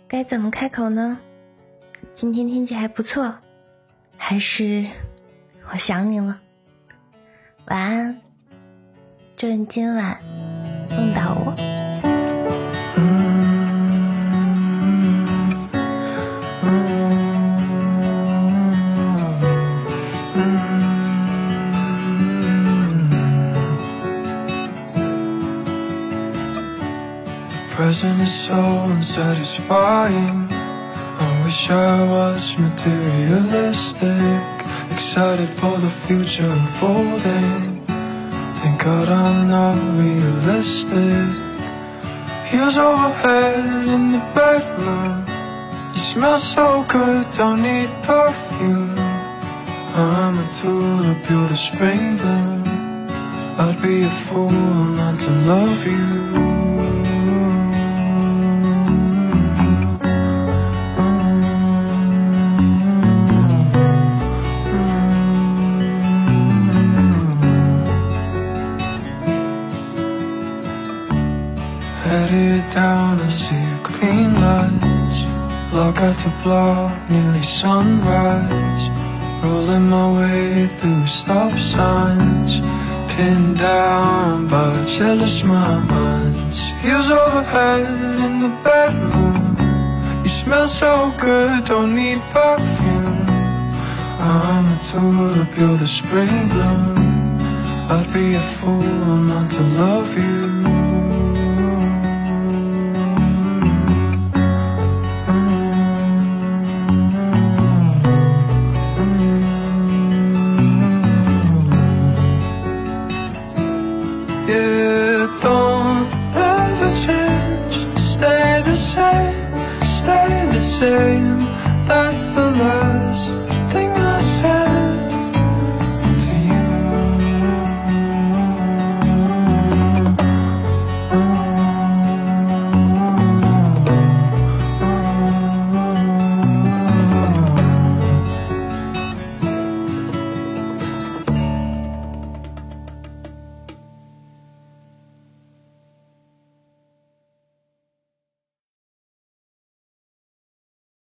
该怎么开口呢？今天天气还不错，还是我想你了。晚安，祝你今晚梦到我。 Present is so unsatisfying. I wish I was materialistic, excited for the future unfolding. Thank God I'm not realistic. Heels overhead in the bedroom. You smell so good, don't need perfume. I'm a tulip, you're the spring bloom. I'd be a fool not to love you. Headed down, I see green lights. Block after block, nearly sunrise. Rolling my way through stop signs. Pinned down by jealous minds. Heels overhead in the bedroom. You smell so good, don't need perfume. I'm a tulip, you're the spring bloom. I'd be a fool not to love you. Yeah, don't ever change. Stay the same, stay the same.